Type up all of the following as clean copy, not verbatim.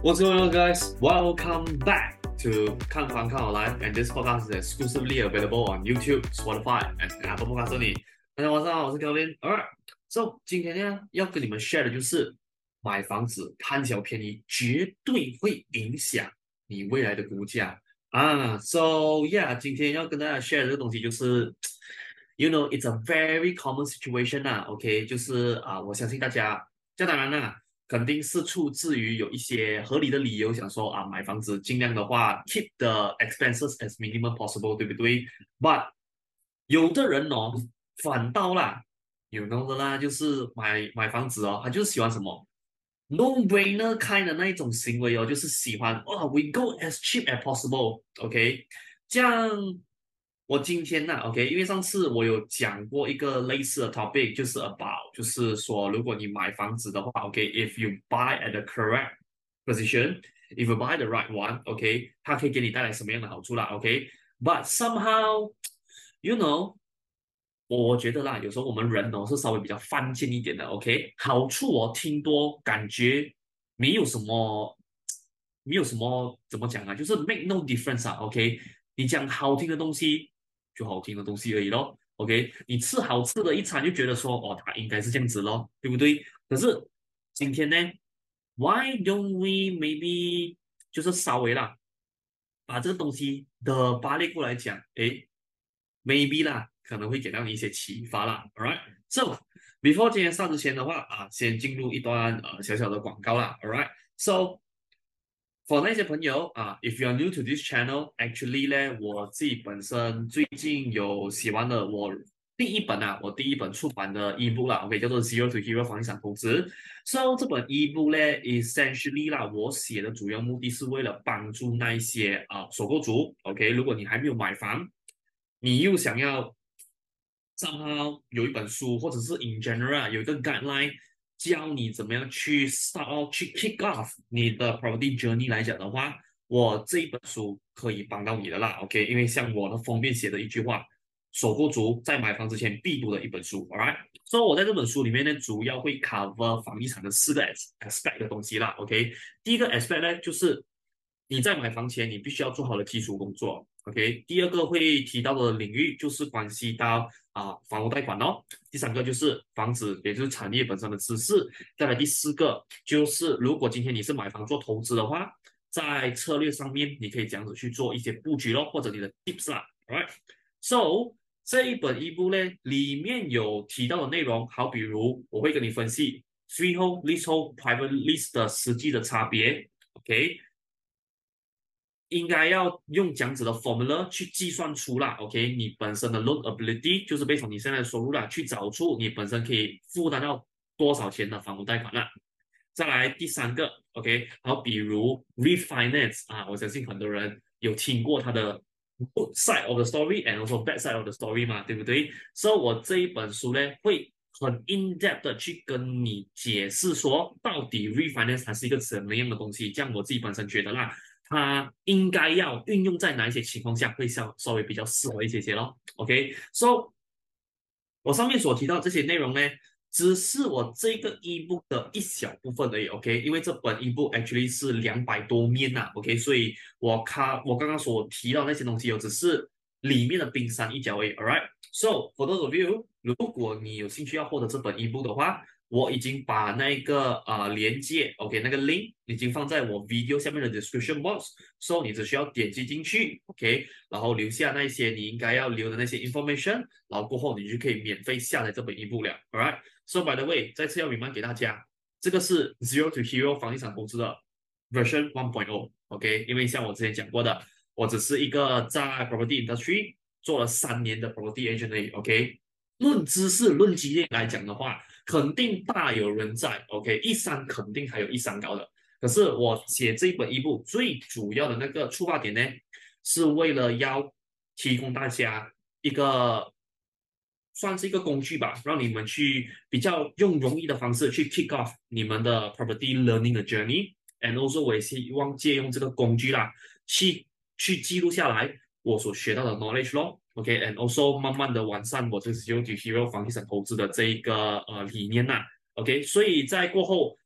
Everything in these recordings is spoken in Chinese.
What's going on, guys? Welcome back to 看房看好来 and this podcast is exclusively available on YouTube, Spotify, and Apple Podcasts only. 大家晚上好，我是 Kelvin. Alright, so 今天呢要跟你们 share 的就是买房子贪小便宜絕對會影響你未來的股價啊。So yeah， 今天要跟大家 share 的這個東西就是，you know, it's a very common situation 啊。OK， 就是我相信大家，這當然啦。肯定是出自於有一些合理的理由，想說買房子盡量的話 keep the expenses as minimum possible， 對不對 ？But 有的人哦，反倒啦，有的啦，就是買房子哦，他就是喜歡什麼 no-brainer kind 的那一種行為哦，就是喜歡we go as cheap as possible，OK， 這樣。我今天呢，OK， 因為上次我有講過一個類似的 topic， 就是 about， 就是說，如果你買房子的話，OK，if you buy at the correct position，if you buy the right one，OK，它可以給你帶來什麼樣的好處啦，OK，but somehow，you know，我覺得啦，有時候我們人哦是稍微比較犯賤一點的，OK，好處我聽多，感覺沒有什麼怎麼講啊，就是 make no difference 啊，OK，你講好聽的東西。就好聽的東西而已咯 ，OK？ 你吃好吃的一餐就覺得說，它應該是這樣子咯，對不對？可是今天呢 ，Why don't we maybe 就是稍微啦，把這個東西的扒列過來講，誒 ，maybe 啦，可能會給到你一些啟發啦 ，alright？So before 今天上之前的話先進入一段小小的廣告啦 ，alright？So for 那些朋友if you are new to this channel，actually 呢，我自己本身最近有寫完了我第一本出版的 ebook 啦 ，OK， 叫做 Zero to Hero 房地產投資。So 這本 ebook 呢 ，essentially 啦，我寫的主要目的是為了幫助那一些首購族 ，OK， 如果你還沒有買房，你又想要somehow有一本書，或者是 in general 有一個 guideline。教你怎麼樣去 start off 去 kick off 你的 property journey 來講的話，我這一本書可以幫到你的啦 ，OK？ 因為像我的封面寫的一句話，首購族在買房之前必讀的一本書 ，alright？ 所以我在這本書裡面呢，主要會 cover 房地產的4個 aspect 的東西啦 ，OK？ 第一個 aspect 呢，就是你在買房前你必須要做好的基礎工作 ，OK？ 第二個會提到的領域就是關係到房屋貸款哦，第三個就是房子，也就是產業本身的知識，再來第四個就是如果今天你是買房做投資的話，在策略上面你可以這樣子去做一些布局咯，或者你的 tips 啦 ，alright？So 這一本 ebook 呢，裡面有提到的內容，好比如我會跟你分析 freehold、leasehold、private lease 的實際的差別 ，OK？應該要用這樣子的 formula 去計算出啦 ，OK？ 你本身的 loan ability 就是based on你現在的收入啦，去找出你本身可以負擔到多少錢的房屋貸款啦。再來第三個 ，OK？ 好，比如 refinance 我相信很多人有聽過它的 good side of the story and also bad side of the story 嘛，對不對？所以我這一本書呢，會很 in depth 的去跟你解釋說，到底 refinance 它是一個什麼樣的東西，這樣我自己本身覺得啦。它應該要運用在哪一些情況下會稍微比較適合一些咯 ，OK？So 我上面所提到這些內容呢，只是我這個 ebook 的一小部分而已 ，OK？ 因為這本 ebook actually 是200多面吶 ，OK？ 所以我剛剛所提到那些東西，只是裡面的冰山一角而已 ，alright？So for those of you， 如果你有興趣要獲得這本 ebook 的話，我已經把那個連接 ，OK， 那個 link 已經放在我 video 下面的 description box，so 你只需要點擊進去 ，OK， 然後留下那些你應該要留的那些 information， 然後過後你就可以免費下載這本 ebook 了 ，alright？So by the way， 再次要 remind 給大家，這個是 Zero to Hero 房地產投資的 version 1.0，OK？ 因為像我之前講過的，我只是一個在 property industry 做了3年的 property agent 而已 ，OK？ 論知識、論經驗來講的話，肯定大有人在 ，OK， 一山肯定還有一山高的。可是我寫這一本ebook最主要的那個出發點呢，是為了要提供大家一個算是一個工具吧，讓你們去比較用容易的方式去 kick off 你們的 property learning 的 journey，and also 我也希望借用這個工具啦，去記錄下來我所學到的 knowledge 咯。OK，and also 慢慢的完善我這個 Zero to Hero 房地產投資的這一個理念吶。OK， 所以在過後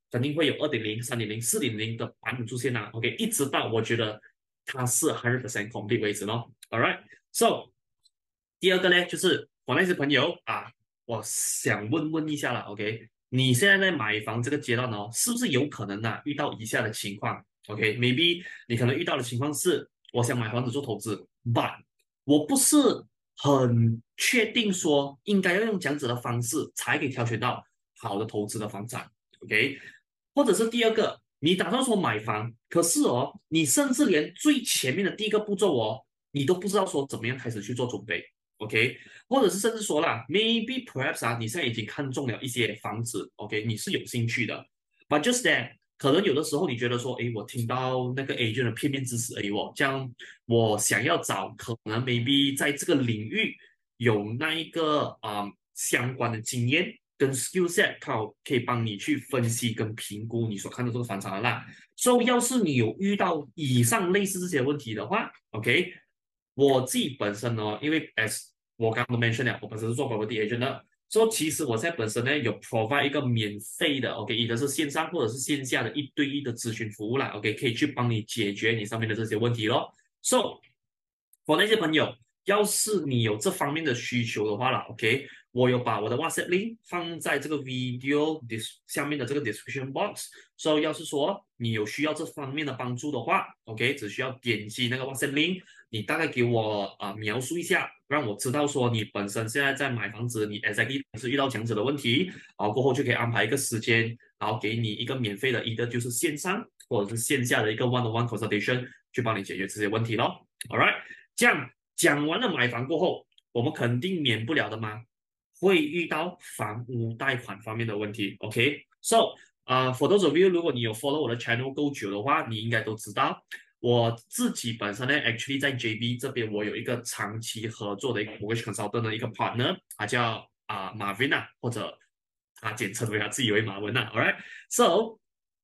肯定會有2.0、3.0、4.0的版本出現啦。OK，一直到我覺得它是100% complete 為止咯。All right，so 第二個呢，就是我那些朋友啊，我想問一下啦。OK，你現在在買房這個階段哦，是不是有可能啊遇到以下的情況？OK，maybe 你可能遇到的情況是，我想買房子做投資，but 我不是很確定說應該要用這樣子的方式才可以挑選到好的投資的房產。OK，或者是第二個，你打算說買房，可是哦，你甚至連最前面的第一個步驟哦，你都不知道說怎麼樣開始去做準備。OK，或者是甚至說啦，maybe perhaps 啊，你現在已經看中了一些房子，OK，你是有興趣的，but just that 可能有的時候你覺得說，誒，我聽到那個 agent 的片面之詞而已哦，這樣我想要找可能 maybe 在這個領域有那一個相關的經驗跟 skill set，可以幫你去分析跟評估你所看的這個房產的啦。所以要是你有遇到以上類似這些問題的話，OK。我自己本身呢，因為 as 我剛剛都 mention 了，我本身是做 property agent 的，所以其實我現在本身呢有 provide 一個免費的 ，OK，一個是線上或者是線下的1對1的諮詢服務啦，OK，可以去幫你解決你上面的這些問題咯。So，我那些朋友，要是你有這方面的需求的話啦，OK，我有把我的 WhatsApp link 放在這個 video 下面的這個 description box，所以要是說你有需要這方面的幫助的話，OK，只需要點擊那個 WhatsApp link。你大概給我描述一下，讓我知道說你本身現在在買房子，你 exactly 是遇到這樣子的問題，然後過後就可以安排一個時間，然後給你一個免費的一個就是線上或者是線下的一個 one-on-one consultation，去幫你解決這些問題咯。All right，這樣講完了買房過後，我們肯定免不了的嘛，會遇到房屋貸款方面的問題。OK，so for those of you，如果你有 follow 我的 channel 夠久的話，你應該都知道。我自己本身呢 ，actually 在 JB 這邊，我有一個長期合作的一個 mortgage consultant 的一個 partner，他叫Marvin 啊，或者他簡稱為他自己為馬文啊。All right，so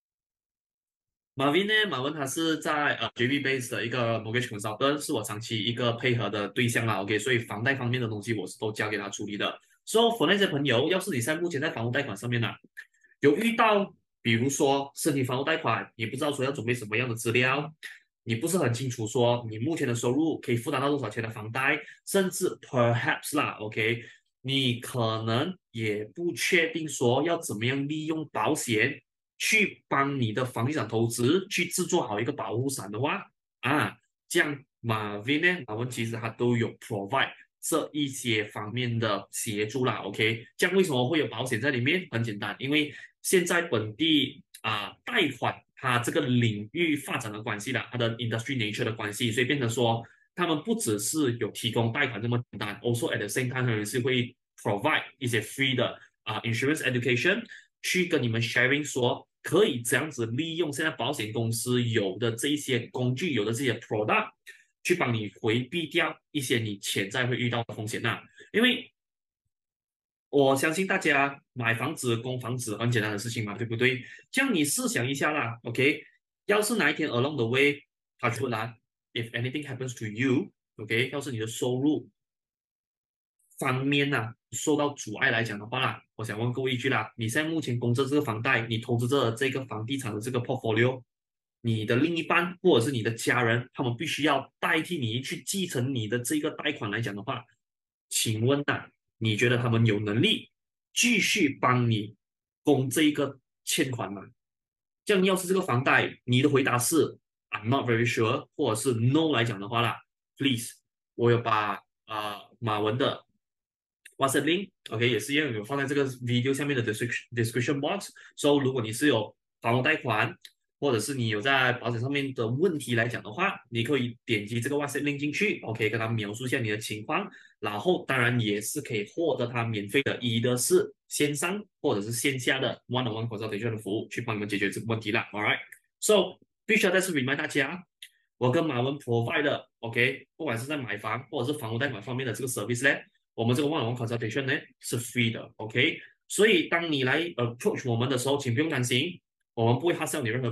Marvin 呢，馬文他是在JB base 的一個 mortgage consultant，是我長期一個配合的對象啦。OK，所以房貸方面的東西我是都交給他處理的。So for 那些朋友，要是你現在目前在房屋貸款上面呢，有遇到比如說申請房屋貸款，你不知道說要準備什麼樣的資料。你不是很清楚說你目前的收入可以負擔到多少錢的房貸，甚至 perhaps 啦 ，OK， 你可能也不確定說要怎麼樣利用保險去幫你的房地產投資去制作好一個保護傘的話這樣Marvin呢，馬文其實他都有 provide 這一些方面的協助啦 ，OK， 這樣為什麼會有保險在裡面？很簡單，因為現在本地貸款。它這個領域發展的關係啦，它的 industry nature 的關係，所以變成說，他們不只是有提供貸款這麼簡單 ，also at the same time 他們是會 provide 一些 free 的insurance education，去跟你們 sharing 說，可以這樣子利用現在保險公司有的這一些工具，有的這些 product，去幫你回避掉一些你潛在會遇到的風險吶，因為我相信大家買房子、供房子很簡單的事情嘛，對不對？這樣你試想一下啦 ，OK？要是哪一天 along the way，他出來 ，if anything happens to you，OK？要是你的收入方面受到阻礙來講的話啦，我想問各位一句啦，你現在目前供着這個房貸，你投資着這個房地產的這個 portfolio，你的另一半或者是你的家人，他們必須要代替你去繼承你的這個貸款來講的話，請問你覺得他們有能力繼續幫你供這一個欠款嗎？這樣要是這個房貸，你的回答是 I'm not very sure， 或者是 No 來講的話啦 ，Please， 我有把馬文的 WhatsApp link，OK， 也是一樣有放在這個 video 下面的 description box。So 如果你是有房屋貸款，或者是你有在保險上面的問題來講的話，你可以點擊這個 WhatsApp link 進去 ，OK， 跟他描述一下你的情況，然後當然也是可以獲得他免費的，一的是線上或者是線下的 one-on-one consultation 的服務，去幫你們解決這個問題啦。All right，so 必須要再次 remind 大家，我跟馬文 provide 的 ，OK， 不管是在買房或者是房屋貸款方面的這個 service 呢，我們這個 one-on-one consultation 呢是 free 的 ，OK， 所以當你來approach 我們的時候，請不用擔心。我們不會 hard sell 你任何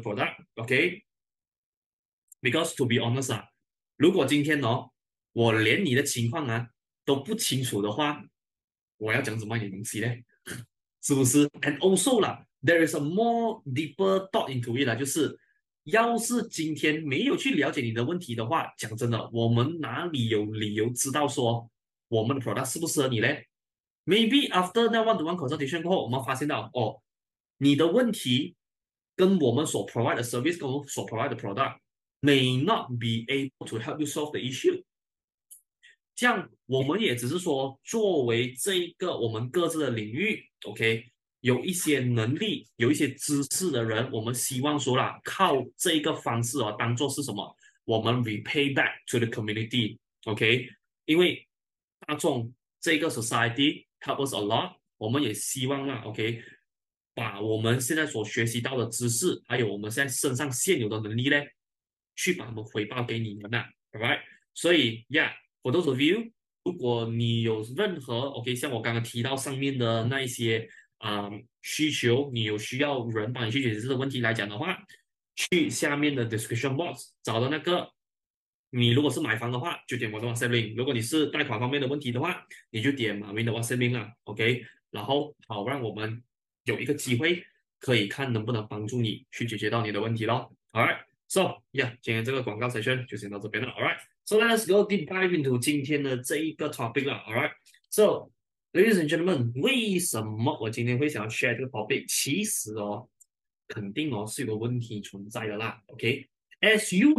product，OK？Because to be honest 如果今天我連你的情況都不清楚的話，我要講怎麼樣的東西呢？是不是 ？And also 啦， there is a more deeper thought into it 啦，就是要是今天没有去了解你的問題的話，講真的，我們哪裡有理由知道說我們的 product 適不適合你嘞？Maybe after 那 one-to-one consultation 過後，我們發現到哦，你的問題跟我們所 provide 的 service 跟我們所 provide 的 product may not be able to help you solve the issue。這樣我們也只是說，作為這一個我們各自的領域 ，OK， 有一些能力、有一些知識的人，我們希望說啦，靠這一個方式哦，當做是什麼？我們 repay back to the community，OK，因為大眾這個 society help us a lot，我們也希望啦，OK，把我們現在所學習到的知識，還有我們現在身上現有的能力呢，去把它們回報給你們啦，alright，所以，for those of you，如果你有任何 OK， 像我剛剛提到上面的那一些需求，你有需要人幫你去解決這個問題來講的話，去下面的 description box 找到那個。你如果是買房的話，就點我的 WhatsApp link；如果你是貸款方面的問題的話，你就點馬雲的 WhatsApp link 啦 ，OK。然後好讓我們有一個機會，可以看能不能幫助你去解決到你的問題咯。Alright，so yeah， 今天這個廣告 session 就先到這邊了。Alright，so let's go deep dive into 今天的這一個 topic 了。Alright，so ladies and gentlemen， 為什麼我今天會想要 share 這個 topic？ 其實哦，肯定哦是有個問題存在的啦。OK，as you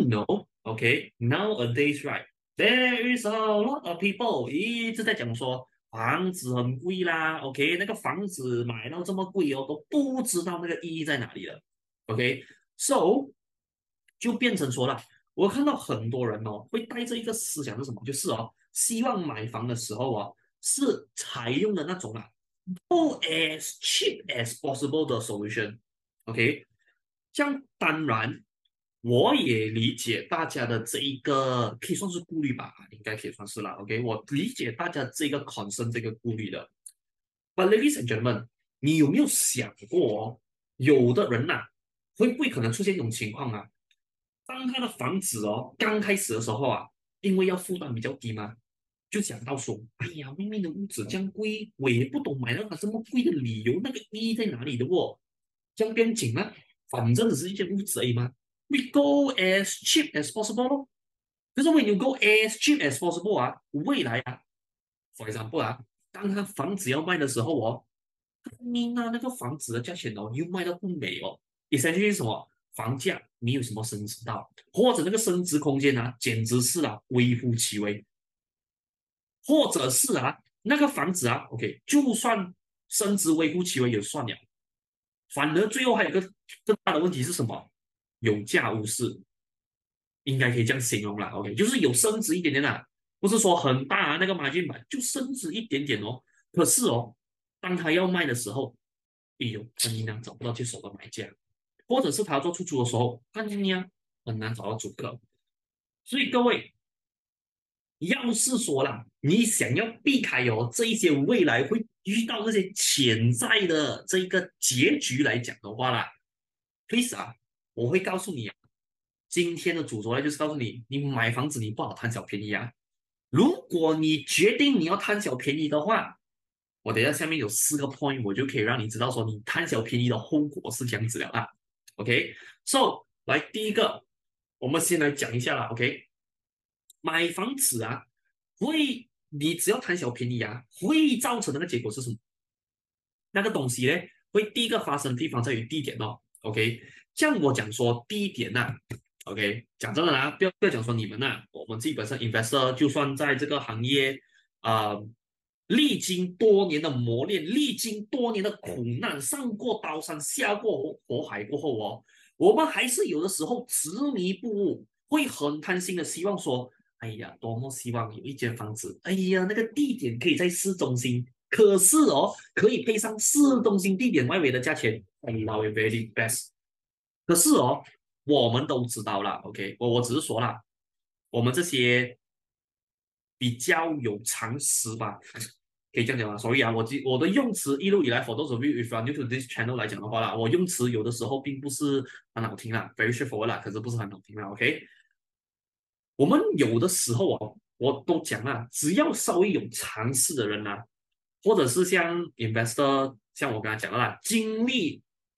know。Okay, nowadays, there is a lot of people 一直在講說房子很貴啦。OK， 那個房子買到這麼貴哦，都不知道那個意義在哪裡了。OK，so 就變成說了，我看到很多人哦，會帶着一個思想是什麼？就是哦，希望買房的時候哦，是採用的那種啊，go as cheap as possible 的 solution。OK， 這樣當然。我也理解大家的這一個可以算是顧慮吧，應該可以算是啦。OK， 我理解大家這個 concern 這個顧慮的。But ladies and gentlemen， 你有沒有想過哦，有的人吶，會不會可能出現一種情況啊？當他的房子哦剛開始的時候啊，因為要負擔比較低嘛，就想到說，哎呀，外面的屋子這樣貴，我也不懂買到它這麼貴的理由，那個意義在哪裡的哦？這樣不用緊啊，反正只是一間屋子而已嘛。We go as cheap as possible。可是 when you go as cheap as possible 啊，未來啊 ，for example 啊，當他房子要賣的時候哦，你拿那個房子的價錢哦，又賣到不美哦，essentially 是什麼？房價沒有什麼升值到，或者那個升值空間啊，簡直是啊微乎其微，或者是啊那個房子啊 ，OK， 就算升值微乎其微也算了，反而最後還有一個更大的問題是什麼？有價無市，應該可以這樣形容啦。OK， 就是有升值一點點啦，不是說很大啊，那個margin買就升值一點點哦。可是哦，當他要賣的時候，哎呦，很難找不到接手的買家，或者是他要做出租的時候，很難找到租客。所以各位，要是說啦，你想要避開哦這一些未來會遇到這些潛在的這一個結局來講的話啦 ，please 啊。我會告訴你啊，今天的主軸呢，就是告訴你，你買房子你不好貪小便宜啊。如果你決定你要貪小便宜的話，我等一下下面有4個 point， 我就可以讓你知道說你貪小便宜的後果是這樣子的啊。OK，so 來第一個，我們先來講一下啦。OK， 買房子啊，你只要貪小便宜啊，會造成那個結果是什麼？那個東西呢，會第一個發生的地方在於地點哦。OK。像我講說第一點吶 ，OK， 講真的啦，不要講說你們吶，我們基本上 investor 就算在這個行業歷經多年的磨練，歷經多年的苦難，上過刀山下過火海過後哦，我們還是有的時候執迷不悟，會很貪心的希望說，哎呀，多麼希望有一間房子，哎呀，那個地點可以在市中心，可是哦，可以配上市中心地點外圍的價錢，哎，now very best。可是哦，我們都知道啦 ，OK， 我只是說啦，我們這些比較有常識吧，可以這樣講嗎？所以啊，我的用詞一路以來 ，for those of you if you are new to this channel 來講的話啦，我用詞有的時候並不是很好聽啦 ，very straightforward 啦，可是不是很好聽啦 ，OK。我們有的時候哦，我都講啦，只要稍微有常識的人啊，或者是像 investor，像我剛才講的啦，經歷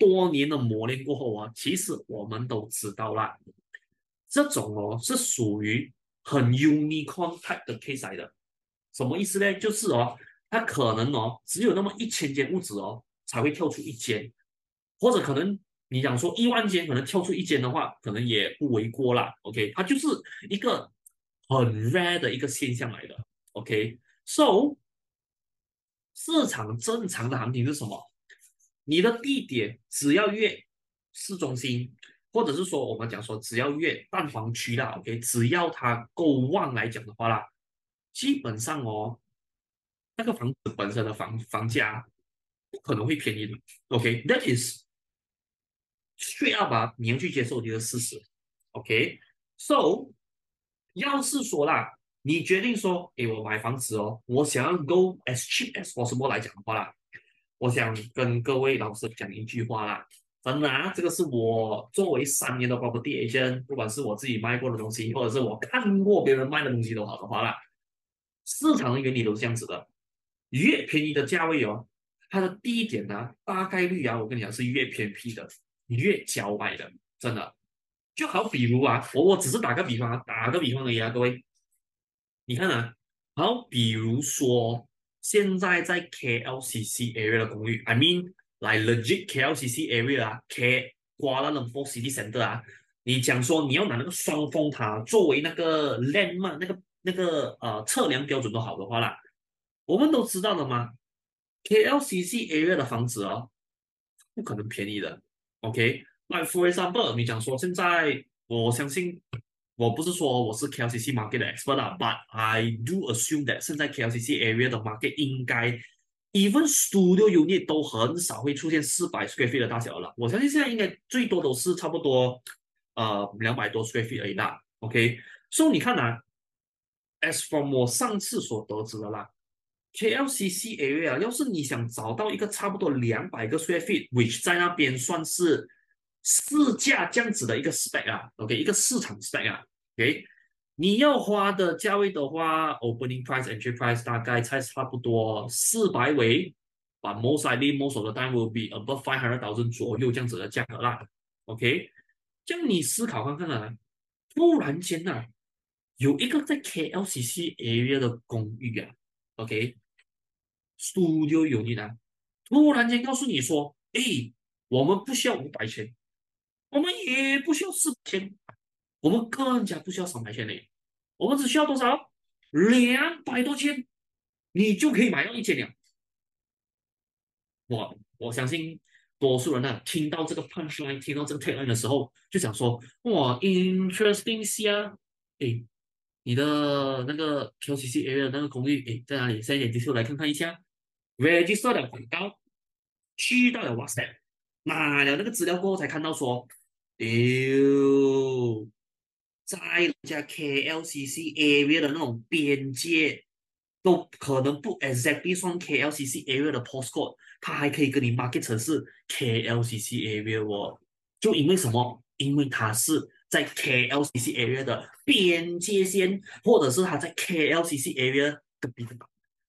多年的磨練過後啊，其實我們都知道啦，這種哦是屬於很 unicorn type 的 case 來的。什麼意思呢？就是哦，它可能哦只有那麼1000間屋子哦才會跳出一間，或者可能你講說10000間，可能跳出一間的話，可能也不為過啦。OK，它就是一個很 rare 的一個現象來的。OK，so、市场正常的行情是什麼？你的地點只要越市中心，或者是說我們講說只要越蛋黃區啦，OK，只要它夠旺來講的話啦，基本上哦，那個房子本身的房價不可能會便宜的。OK，that is straight up 啊，你要去接受你的事實。OK，so、要是說啦，你決定說，誒，我買房子哦，我想要 go as cheap as possible 來講的話啦，我想跟各位老師講一句話啦，真的啊，這個是我作為3年的 property agent，不管是我自己賣過的東西，或者是我看過別人賣的東西都好的話啦，市場的原理都是這樣子的，越便宜的價位哦，它的地點呢，大概率啊，我跟你講是越偏僻的，越郊外的，真的。就好比如啊，我只是打個比方啊，打個比方而已啊，各位，你看啊，好比如說現在在 KLCC area 的公寓，I mean like legit KLCC area 啊，Kuala Lumpur City Centre 啊，你講說你要拿那個雙峰塔作為那個 landmark 那個測量標準都好的話啦，我們都知道的嘛，KLCC area 的房子哦，不可能便宜的，OK。Like for example，你講說現在，我相信，我不是說我是 KLCC market 的 expert 啊，but I do assume that 現在 KLCC area 的 market 應該 even studio unit 都很少會出現400 square feet 的大小了。我相信現在應該最多都是差不多200多 square feet 而已啦。OK，so 你看啊，as from 我上次所得知的啦。KLCC area，要是你想找到一個差不多200個 square feet，which 在那邊算是市價這樣子的一個 spec 啊，OK，一個市場 spec 啊，OK，你要花的價位的話，opening price、entry price 大概才差不多400位，but most likely most of the time will be above 500,000左右這樣子的價格啦，OK，這樣你思考看看啊，突然間啊，有一個在 KLCC area 的公寓啊，OK。studio unit 啊，突然間告訴你說，哎，我們不需要500千，我們也不需要400千，我們更加不需要300千嘞，我們只需要多少？200多千，你就可以買到一间了。我相信多數人呢、聽到這個 punchline，聽到這個 tagline 的時候，就想說，哇，interesting 啊，哎，你的那個 KLCC area 的那個公寓，哎，在哪裡？现在點擊出來看看一下。register 了廣告，去到了 WhatsApp，拿了那個資料過後才看到說，在人家 KLCC area 的那種邊界，都可能不 exactly 算 KLCC area 的 postcode，它還可以跟你 market 成是 KLCC area 哦，就因為什麼？因為它是在 KLCC area 的邊界線，或者是它在 KLCC area 隔壁的。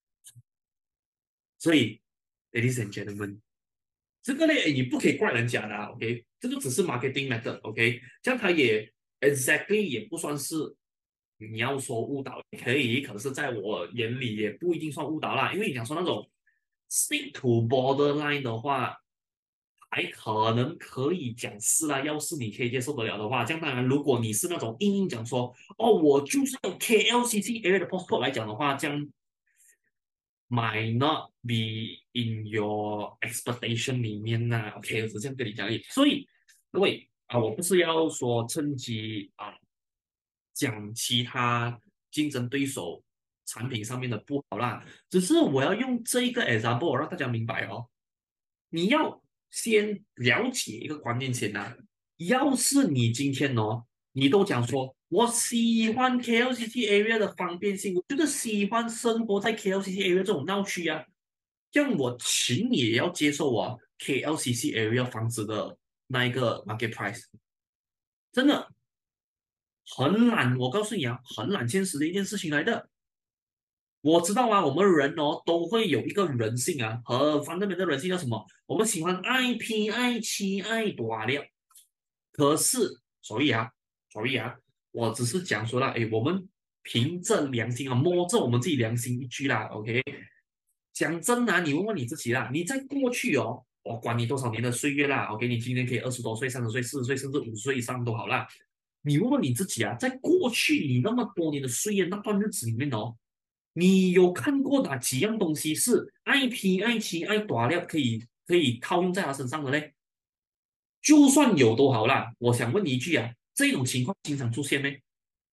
所以 ，ladies and gentlemen，這個呢，你不可以怪人家的啊，OK，這個只是 marketing method，OK，這樣它也 exactly 也不算是你要說誤導，可以，可是在我眼裡也不一定算誤導啦，因為你講說那種 stick to borderline 的話，還可能可以講是啦，要是你可以接受得了的話，這樣當然，如果你是那種硬講說，哦，我就是用 KLCC area 的 postcode 來講的話，這樣。might not be in your expectation 裡面吶，OK，我是這樣跟你講而已。所以各位啊，我不是要說趁機啊講其他競爭對手產品上面的不好啦，只是我要用這一個 example 讓大家明白哦。你要先了解一個觀念先吶，要是你今天哦，你都講說。我喜歡 KLCC area 的方便性，我就是喜歡生活在 KLCC area 這種鬧區啊。這樣我請你也要接受啊 KLCC area 房子的那一個 market price，真的很懶，我告訴你啊，很懶現實的一件事情來的。 我知道啊，我們人哦都會有一個人性啊，和方面的人性叫什麼？我們喜歡愛拼、愛妻、愛短了。可是，所以啊，我只是講說了，哎，我們憑着良心啊，摸着我們自己良心一句啦，OK。講真的啊，你問問你自己啦，你在過去哦，我管你多少年的歲月啦，OK，你今年可以20多歲、30岁、40岁，甚至50岁以上都好啦。你問問你自己啊，在過去你那麼多年的岁月那段日子裡面哦，你有看過哪幾樣東西是愛拼、愛妻、愛短料可以套用在他身上的嘞？就算有都好啦，我想問你一句啊，這種情況經常出現没？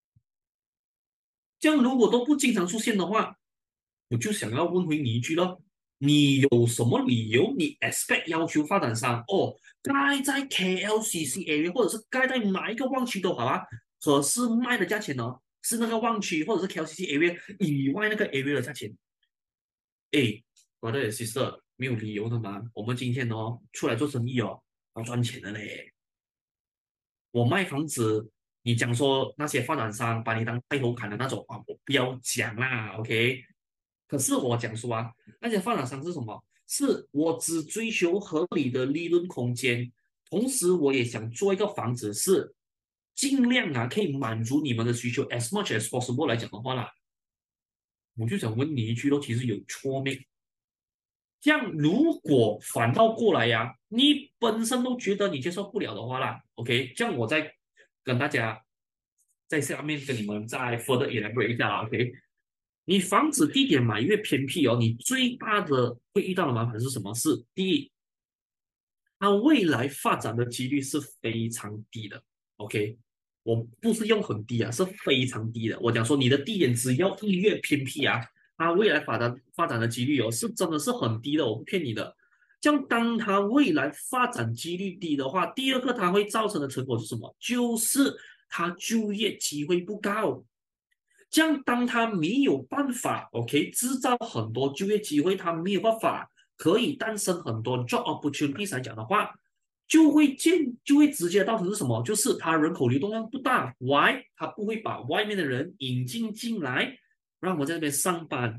這樣如果都不經常出現的話，我就想要問回你一句咯，你有什麼理由你 expect 要求發展商哦，蓋在 KLCC area 或者是蓋在哪一個旺區都好啊，可是賣的價錢呢是那個旺區或者是 KLCC area 以外那個 area 的價錢？誒，我的 sister 沒有理由的嘛，我們今天哦出來做生意哦要賺錢的嘞。我賣房子，你講說那些發展商把你當帶頭砍的那種啊，我不要講啦，OK。可是我講說啊，那些發展商是什麼？是我只追求合理的利潤空間，同時我也想做一個房子是盡量啊可以滿足你們的需求，as much as possible 來講的話啦，我就想問你一句咯，其實有錯沒？這樣如果反倒過來呀、你本身都覺得你接受不了的話啦，OK，這樣我再跟大家在下面跟你們再 further elaborate 一下啦，OK。你房子地點買越偏僻哦，你最大的會遇到的麻煩是什麼？是第一，它未來發展的幾率是非常低的，OK。我不是用很低啊，是非常低的。我講說你的地點只要一越偏僻啊，它未來發展的幾率哦，是真的是很低的，我不騙你的。這樣，當它未來發展幾率低的話，第二個它會造成的成果是什麼？就是它就業機會不高。這樣，當它沒有辦法，OK，製造很多就業機會，它沒有辦法可以誕生很多 job opportunities 來講的話，就會直接造成是什麼？就是它人口流動量不大，Why？它不會把外面的人引進來，讓我在這邊上班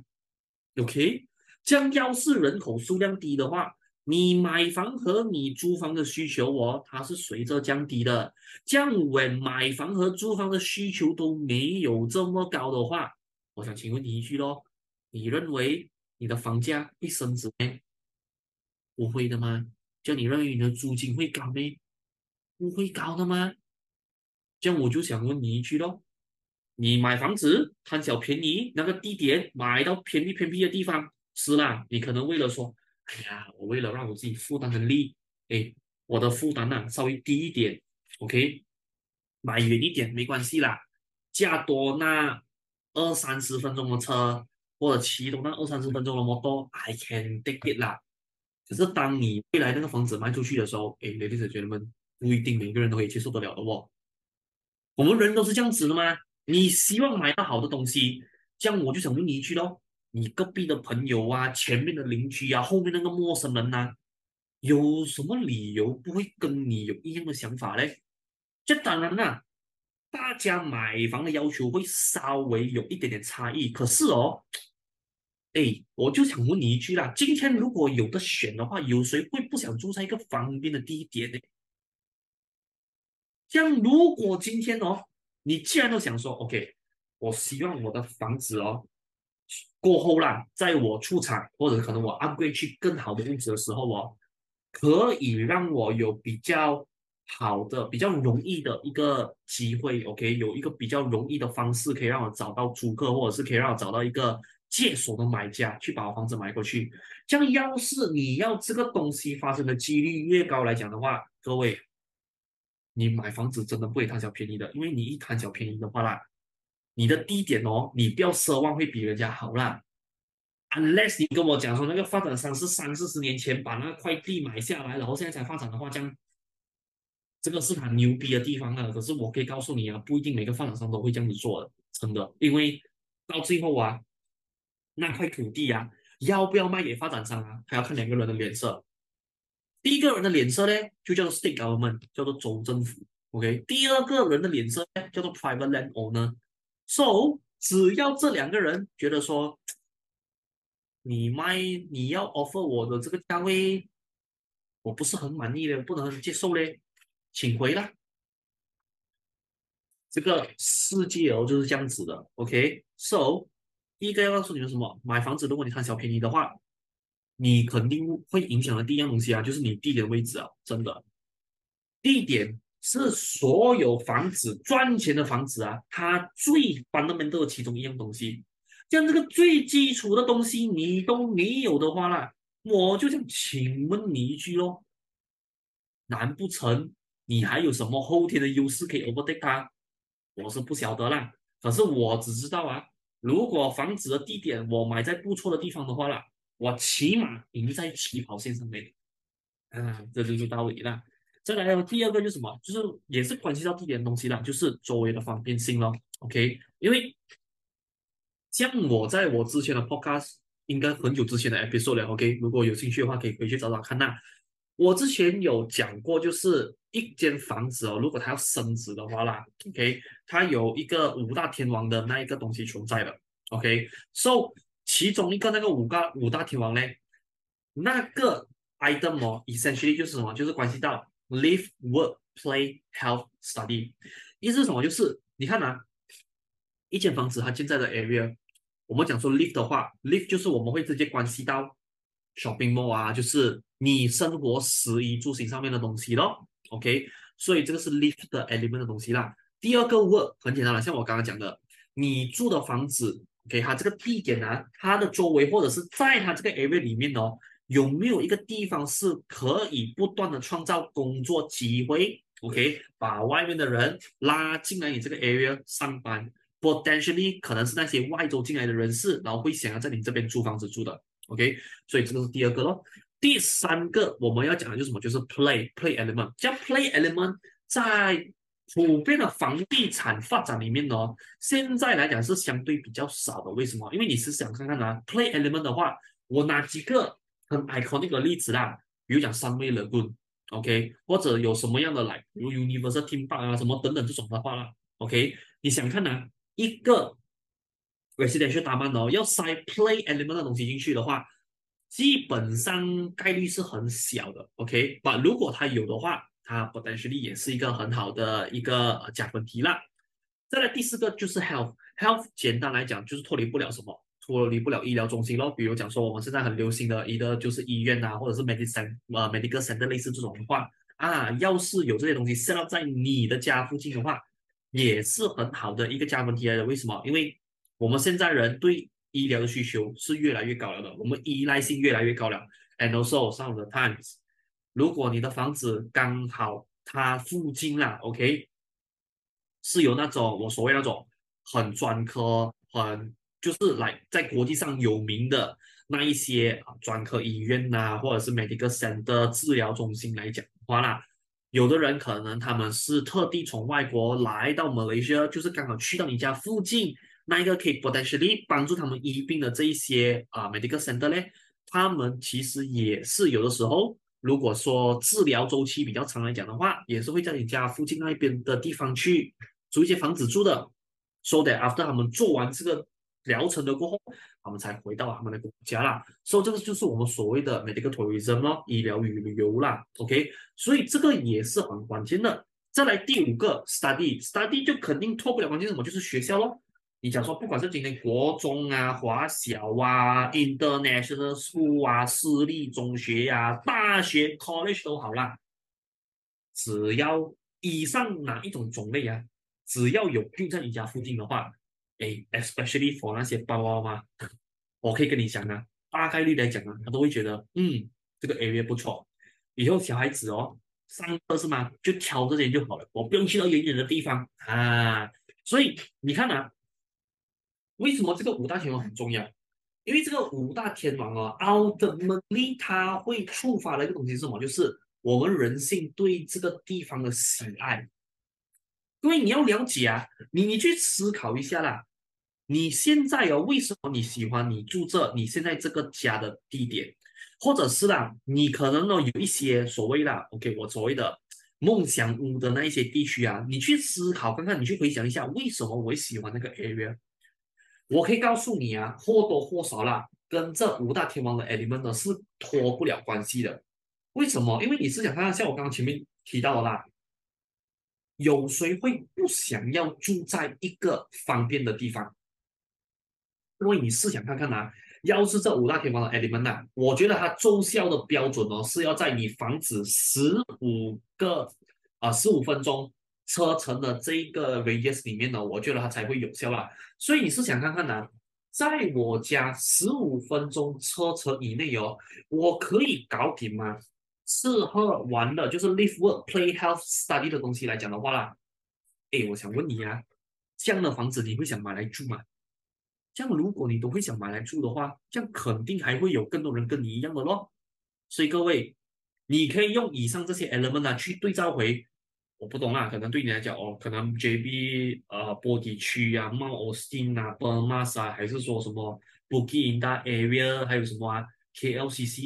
，OK？這樣要是人口數量低的話，你買房和你租房的需求哦，它是隨着降低的。這樣，when 買房和租房的需求都沒有這麼高的話，我想請問你一句咯，你認為你的房價會升值嗎？不會的嗎？叫你認為你的租金會高嗎？不會高的嗎？這樣我就想問你一句咯，你買房子貪小便宜，那個地點買到偏僻的地方，是啦，你可能為了說，哎呀，我為了讓我自己負擔能力，哎，我的負擔啊稍微低一點，OK，買遠一點沒關係啦，駕多那20-30分鐘的車，或者騎多那20-30分鐘的摩托，I can take it 啦。可是當你未來那個房子賣出去的時候，哎，ladies and gentlemen，不一定每個人都可以接受得了的哦。我們人都是這樣子的嗎？你希望買到好的東西，這樣我就想問你一句咯，你隔壁的朋友啊，前面的鄰居啊，後面那個陌生人啊，有什麼理由不會跟你有一樣的想法嘞？這當然啦，大家買房的要求會稍微有一點點差異，可是哦，哎，我就想問你一句啦，今天如果有的選的話，有誰會不想住在一個方便的地點呢？這樣，如果今天哦，你既然都想說，OK，我希望我的房子哦，過後啦，在我出廠或者可能我 upgrade 去更好的屋子的時候哦，可以讓我有比較好的、比較容易的一個機會，OK，有一個比較容易的方式可以讓我找到租客，或者是可以讓我找到一個接手的買家去把我房子買過去。這樣，要是你要這個東西發生的幾率越高來講的話，各位。你買房子真的不會貪小便宜的，因為你一貪小便宜的話啦，你的地點哦，你不要奢望會比人家好啦。Unless 你跟我講說那個發展商是30-40年前把那塊地買下來，然後現在才發展的話，這樣這個是很牛逼的地方啊。可是我可以告訴你啊，不一定每個發展商都會這樣子做的，真的，因為到最後啊，那塊土地啊，要不要賣給發展商啊，還要看兩個人的臉色。第一個人的臉色呢，就叫做 state government，叫做州政府。OK，第二個人的臉色呢，叫做 private landowner。So，只要這兩個人覺得說， 你要 offer 我的这个价位，我不是很滿意的，不能接受嘞，請回啦。這個世界哦就是這樣子的，OK？So，第一個要告訴你們什麼？買房子，如果你貪小便宜的話，你肯定會影響的第一樣東西啊，就是你地點位置啊，真的。地點是所有房子賺錢的房子啊，它最 fundamental 的其中一樣東西。像這個最基礎的東西你都沒有的話啦，我就想請問你一句咯，難不成你還有什麼後天的優勢可以 overtake 它？我是不曉得啦，可是我只知道啊，如果房子的地點我買在不錯的地方的話啦，我起碼贏在起跑線上面。啊，這就是道理啦。再來第二個就是什麼？就是也是關係到地點的東西啦，就是周圍的方便性咯。OK，因為像我在我之前的 podcast，應該很久之前的 episode 了。OK，如果有興趣的話，可以回去找找看吶。我之前有講過，就是一間房子哦，如果它要升值的話啦，OK，它有一個五大天王的那一個東西存在的。OK，so 其中一個那個五大天王呢，那個 item 哦，essentially 就是什麼？就是關係到 live, work, play, health, study。意思是什麼？就是你看啊，一間房子它建在的 area，我們講說 live 的話，live 就是我們會直接關係到 shopping mall 啊，就是你生活食衣住行上面的東西咯。OK，所以這個是 live 的 element 的東西啦。第二個 work 很簡單了，像我剛剛講的，你住的房子，OK，它這個地點啊，它的周圍或者是在它這個 area 裡面哦，有沒有一個地方是可以不斷的創造工作機會？OK，把外面的人拉進來你這個 area 上班。potentially 可能是那些外州進來的人士，然後會想要在你這邊租房子住的，OK，所以這個是第二個咯。第三個我們要講的就是什麼？就是 play element。像 play element 在普遍的房地產發展裡面呢，現在來講是相對比較少的。為什麼？因為你是想看看啊，play element 的話，我拿幾個很 iconic 的例子啦，比如講Sunway Lagoon，OK，或者有什麼樣的來，比如 Universal Theme Park 啊，什麼等等這種的話啦，OK，你想看啊？一個 residential 大曼哦，要塞 play element 的東西進去的話，基本上概率是很小的，OK， 但如果它有的話，它 potentially 也是一個很好的一個加分題啦。再來第四個就是 health 簡單來講就是脫離不了什麼，脫離不了醫療中心咯。比如講說我們現在很流行的一個就是醫院啊，或者是 medical center 類似這種的話啊，要是有這些東西 set up 在你的家附近的話，也是很好的一個加分題來的。為什麼？因為我們現在人對醫療的需求是越來越高了的，我們依賴性越來越高了。And also some of the times，如果你的房子剛好它附近啦，OK，是有那種我所謂那種很專科、就是來在國際上有名的那一些專科醫院啊，或者是 medical center 治療中心來講的話啦。有的人可能他們是特地從外國來到馬來西亞，就是剛好去到你家附近那一個可以 potentially 幫助他們醫病的這一些medical center 呢，他們其實也是有的時候，如果說治療週期比較長來講的話，也是會在你家附近那邊的地方去租一些房子住的，so that after 他們做完這個療程的過後，他們才回到他們的國家啦。所以這個就是我們所謂的 medical tourism 咯，醫療與旅遊啦。OK， 所以這個也是很關鍵的。再來第五個 study 就肯定脫不了關係，什麼就是學校咯。你講說不管是今天國中啊、華小啊、international school 啊、私立中學啊、大學 college 都好啦，只要以上哪一種種類啊，只要有就在你家附近的話。especially for 那些爸爸媽媽，我可以跟你講啊，大概率來講啊，他都會覺得，這個 area 不錯，以後小孩子哦，上課是嗎？就挑這些就好了，我不用去到遠遠的地方啊。所以你看啊，為什麼這個五大天王很重要？因為這個五大天王哦，ultimately 它會觸發的一個東西是什麼？就是我們人性對這個地方的喜愛。因為你要了解啊，你去思考一下啦，你現在哦，為什麼你喜歡你住這你現在這個家的地點，或者是啦，你可能呢有一些所謂啦 ，OK， 我所謂的夢想屋的那一些地區啊，你去思考看看，你去回想一下，為什麼我會喜歡那個 area？我可以告訴你啊，或多或少啦， 跟這五大天王的 element 呢是脫不了關係的。為什麼？因為你是想看，像我剛剛前面提到的啦，有誰會不想要住在一個方便的地方？因為你試想看看啊，要是這五大天王的 element 啊，我覺得它奏效的標準哦，是要在你房子15分鐘車程的這一個 radius 裡面呢，我覺得它才會有效啦。所以你試想看看啊，在我家15分鐘車程以內哦，我可以搞定嗎？吃喝玩樂就是 live work play health study 的東西來講的話啦，誒，我想問你啊，這樣的房子你會想買來住嗎？這樣如果你都會想買來住的話，這樣肯定還會有更多人跟你一樣的咯。所以各位，你可以用以上這些 element 啊去對照回，我不懂啦，可能對你來講哦，可能 JB 波底區啊、Mount Austin 啊、Permas 啊，還是說什麼 Bukit Indah area，還有什麼啊 KLCC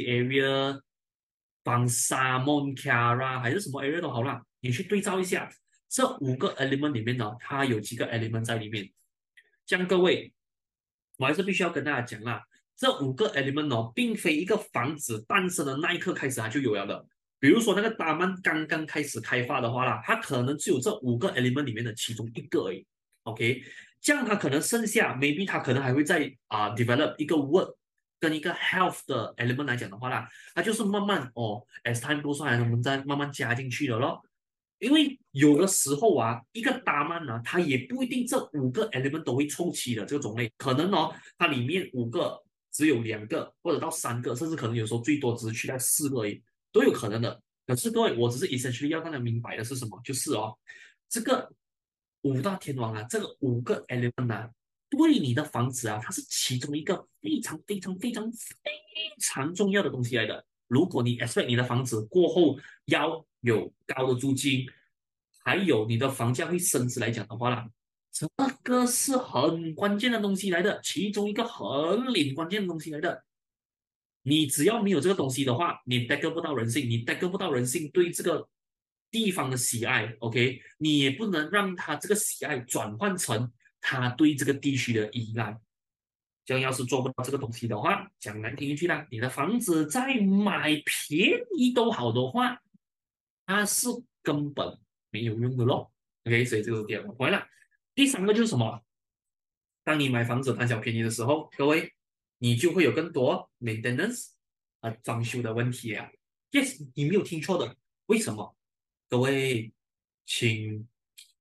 area、Bangsa Mont Kiara 還是什麼 area 都好啦，你去對照一下這五個 element 裡面呢，它有幾個 element 在裡面。這樣各位，我還是必須要跟大家講啦，這五個 element 哦，並非一個房子誕生的那一刻開始它就有了的。比如說那個達曼剛剛開始開發的話啦，它可能只有這五個 element 裡面的其中一個而已。OK，這樣它可能剩下 maybe 它可能還會再develop 一個 work 跟一個 health 的 element 來講的話啦，它就是慢慢哦 as time goes on，我們再慢慢加進去的咯。因為有的時候啊，一個達曼呢，它也不一定這五個 element 都會湊齊的這個種類，可能哦，它裡面五個只有2個，或者到3個，甚至可能有時候最多只是去到4個而已，都有可能的。可是各位，我只是 essentially 要讓大家明白的是什麼？就是哦，這個五大天王啊，這個5個 element 啊，對你的房子啊，它是其中一個非常非常非常非常重要的東西來的。如果你 expect 你的房子過後要有高的租金，還有你的房價會升值來講的話啦，這個是很關鍵的東西來的，其中一個很領關鍵的東西來的。你只要沒有這個東西的話，你 back 不到人性，你 back 不到人性對這個地方的喜愛 ，OK， 你也不能讓他這個喜愛轉換成他對這個地區的依賴。這樣要是做不到這個東西的話，講難聽一句啦，你的房子再買便宜都好的話，它是根本沒有用的咯。OK， 所以這個是第2個。回來，第3個就是什麼？當你買房子貪小便宜的時候，各位，你就會有更多 maintenance 裝修的問題啊。Yes， 你沒有聽錯的。為什麼？各位，請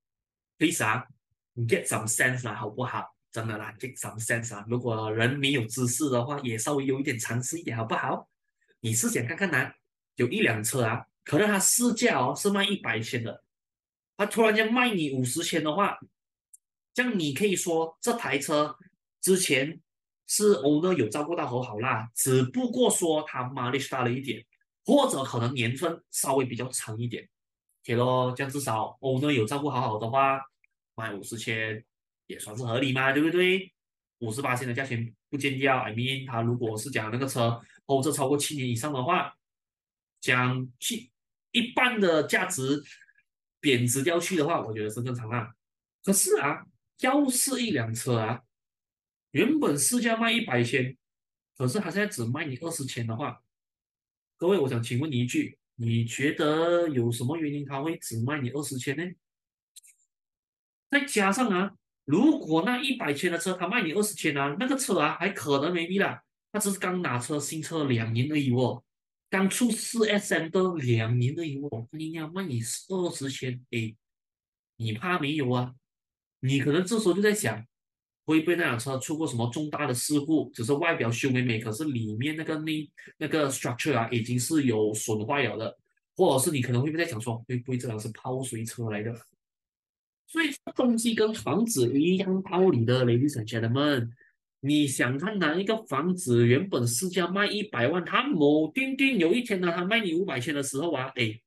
please 啊 ，get some sense 啦，好不好？真的啦 ，get some sense 啊！如果人沒有知識的話，也稍微有一點常識一點，好不好？你試想看看啊，有一輛車啊，可能它市價哦是賣100千的，它突然間賣你50千的話，這樣你可以說這台車之前是 owner 有照顧到很好啦，只不過說它 mileage 大了一點，或者可能年份稍微比較長一點。OK 咯，這樣至少 owner 有照顧好好的話，賣50千也算是合理嘛，對不對？58千的價錢不見掉，I mean，他如果是講那個車後這超過7年以上的話，講去一半的價值貶值掉去的話，我覺得是正常啊。可是啊，要是一輛車啊，原本市價賣100千，可是他現在只賣你20千的話，各位，我想請問你一句，你覺得有什麼原因他會只賣你20千呢？再加上啊，如果那100千的車他賣你20千啊，那個車啊還可能沒必啦，他只是剛拿車新車2年而已哦，剛出4SM的2年而已哦，你要賣你20千，誒，你怕沒有啊？你可能這時候就在想，會不會那輛車出過什麼重大的事故，只是外表修美美，可是裡面那個 structure 啊已經是有損壞了的，或者是你可能會不會在想說，會不會這輛是泡水車來的？所以這東西跟房子一樣道理的，ladies and gentlemen，你想看哪一個房子原本市價賣100萬，它某定有一天呢，它賣你500千的時候啊，誒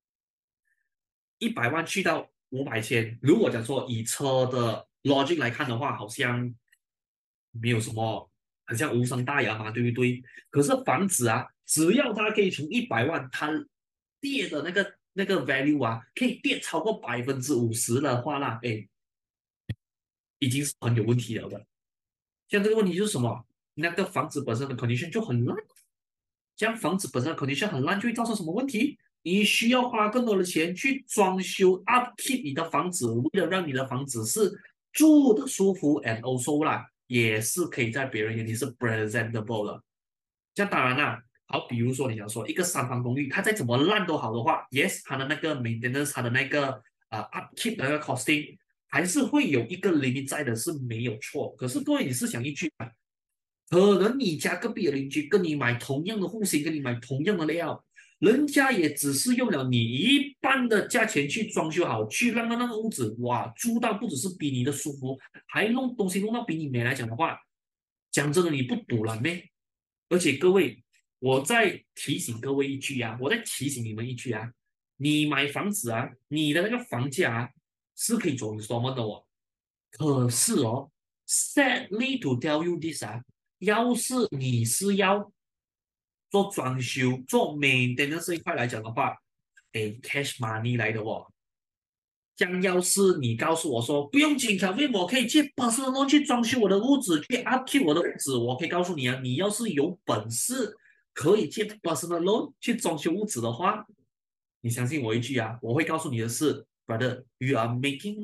，100萬去到500千，如果講說以車的 logic 來看的話，好像沒有什麼，很像無傷大雅嘛，對不對？可是房子啊，只要它可以從100萬，它跌的那個 value 啊，可以跌超過50%的話啦，哎，已經是很有問題了的。像這個問題就是什麼？ 那個房子本身的 condition 就很爛，這樣房子本身的 condition 很爛，就會造成什麼問題？你需要花更多的錢去裝修 upkeep 你的房子，為了讓你的房子是住的舒服 and also 啦，也是可以在別人眼裡是 presentable 的。這樣當然啦，好，比如說你想說一個三房公寓，它再怎麼爛都好的話，yes，它的那個 maintenance，它的那個upkeep 的那個 costing，還是會有一個 limit 在的，是沒有錯。可是各位，你試想一句啊，可能你家隔壁的鄰居跟你買同樣的戶型，跟你買同樣的料，人家也只是用了你一半的價錢去裝修好，去讓那個屋子哇住到不只是比你的舒服，還弄東西弄到比你美來講的話，講真的你不賭了咩？而且各位，我再提醒各位一句啊，我再提醒你們一句啊，你買房子啊，你的那個房價啊是可以做 installment 的哦。可是哦，sadly to tell you this 啊，要是你是要做裝修、做 maintenance 這一塊來講的話，誒，cash money 來的哦。像要是你告訴我說不用緊，Kelvin，我可以借personal loan去裝修我的屋子，去 upkeep 我的屋子，我可以告訴你啊，你要是有本事可以借 personal loan 去裝修屋子的話，你相信我一句啊，我会告訴你的是，brother，you are making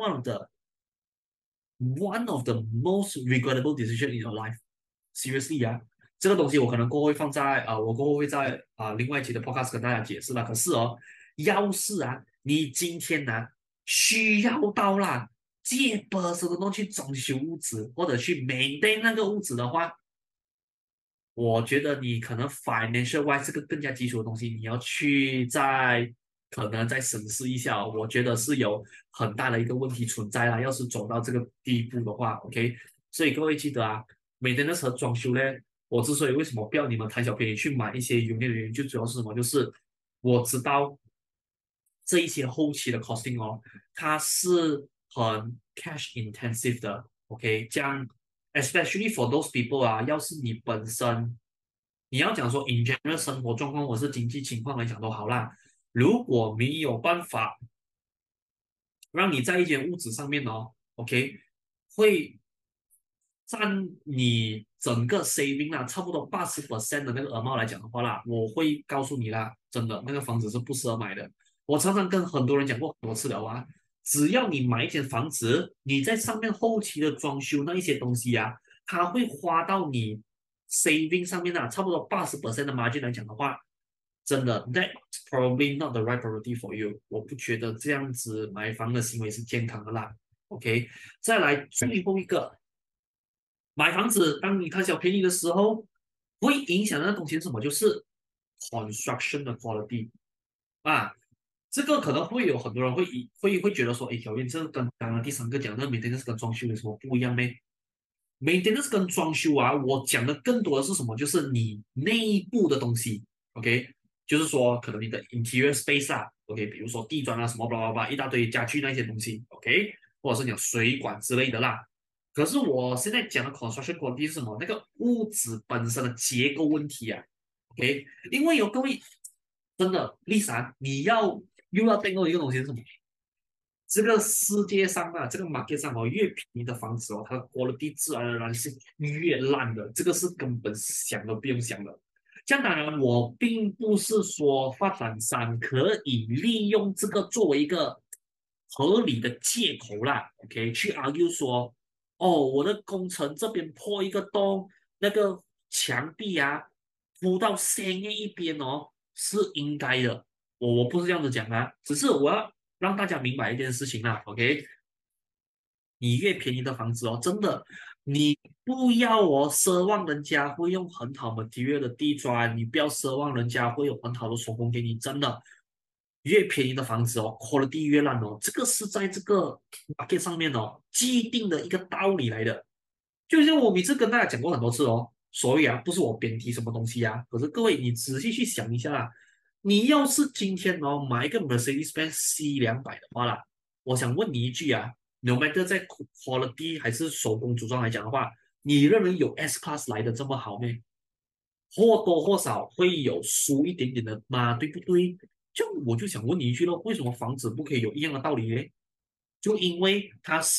one of the most regrettable decision in your life。Seriously 啊，這個東西我可能过後會放在我过後會在另外一期的 podcast 跟大家解釋了。可是哦，要是啊，你今天呢、需要到啦，借 personal loan 去裝修屋子，或者去 maintain 那個屋子的話，我覺得你可能 financial wise 這個更加基礎的東西，你要去可能再審視一下哦。我覺得是有很大的一個問題存在啦。要是走到這個地步的話，OK，所以各位記得啊，maintenance和裝修呢，我之所以為什麼不要你們貪小便宜去買一些 unit 的原因，就主要是什麼？就是我知道這一些後期的 costing 哦，它是很 cash intensive 的，OK，這樣 especially for those people 啊，要是你本身你要講說 in general 生活狀況或是經濟情況來講都好啦，如果沒有辦法讓你在一間屋子上面哦，OK，會占你整個 saving 啦，差不多80% 的那個 amount 來講的話啦，我會告訴你啦，真的那個房子是不適合買的。我常常跟很多人講過很多次了啊，只要你買一間房子，你在上面後期的裝修那一些東西啊，它會花到你 saving 上面啊，差不多80% 的 margin 來講的話，真的 that's probably not the right priority for you。我不覺得這樣子買房的行為是健康的啦。OK，再來最後一個。買房子，當你貪小便宜的時候，會影響的東西是什麼？就是 construction 的 quality 啊，這個可能會有很多人會覺得說，哎，小燕，這個跟剛剛第三個講的 maintenance 跟裝修有什麼不一樣呢？maintenance 跟裝修啊，我講的更多的是什麼？就是你內部的東西 ，OK，就是說可能你的 interior space 啊，OK，比如說地磚啊什麼巴拉巴拉一大堆家具那些東西，OK，或者是講水管之類的啦。可是我現在講的 construction quality 是什麼？那個屋子本身的結構問題啊，OK？因為有各位真的，Lisa，你又要訂購一個東西是什麼？這個世界上啊，這個 market 上哦，越便宜的房子哦，它的 quality 自然而然是越爛的，這個是根本想都不用想的。這樣當然，我並不是說發展商可以利用這個作為一個合理的借口啦，OK？去 argue 說。哦，我的工程這邊破一個洞，那個牆壁啊鋪到深夜一邊哦，是應該的。我不是這樣子講啊，只是我要讓大家明白一件事情啦，OK？你越便宜的房子哦，真的，你不要奢望人家會用很好 material 的地磚，你不要奢望人家會有很好的手工給你，真的。越便宜的房子哦，quality 越爛哦，這個是在這個 market 上面哦既定的一個道理來的。就像我每次跟大家講過很多次哦，所以啊，不是我貶低什麼東西啊，可是各位你仔細去想一下啦，你要是今天哦買一個 Mercedes-Benz C200的話啦，我想問你一句啊，no matter 在 quality 還是手工組裝來講的話，你認為有 S Class 來的這麼好嗎？或多或少會有輸一點點的嘛，對不對？這樣我就想問你一句咯，為什麼房子不可以有一樣的道理呢？就因為它是